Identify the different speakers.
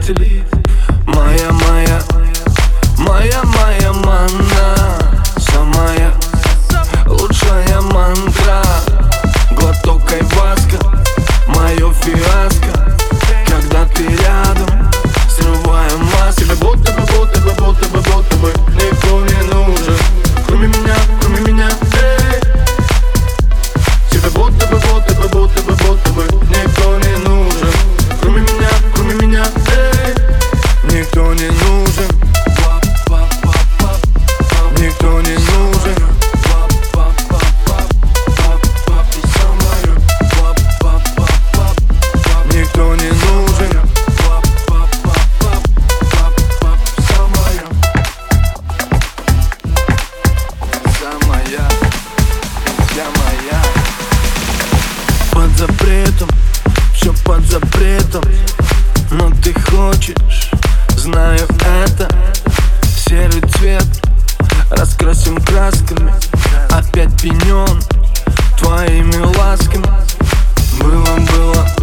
Speaker 1: родителей. Моя манна, самая лучшая мантра. Глоток айваска, мое фиаско. Когда ты рядом, срываю маски. Будто бы никто не нужен, кроме меня, эй. Тебе будто бы никто не нужен, кроме меня, эй. Никто не нужен, никто не нужен. Никто не нужен. Самая, вся моя. Под запретом, все под запретом. Но ты хочешь, знаю это. Серый цвет раскрасим красками. Опять пьянен твоими ласками. Было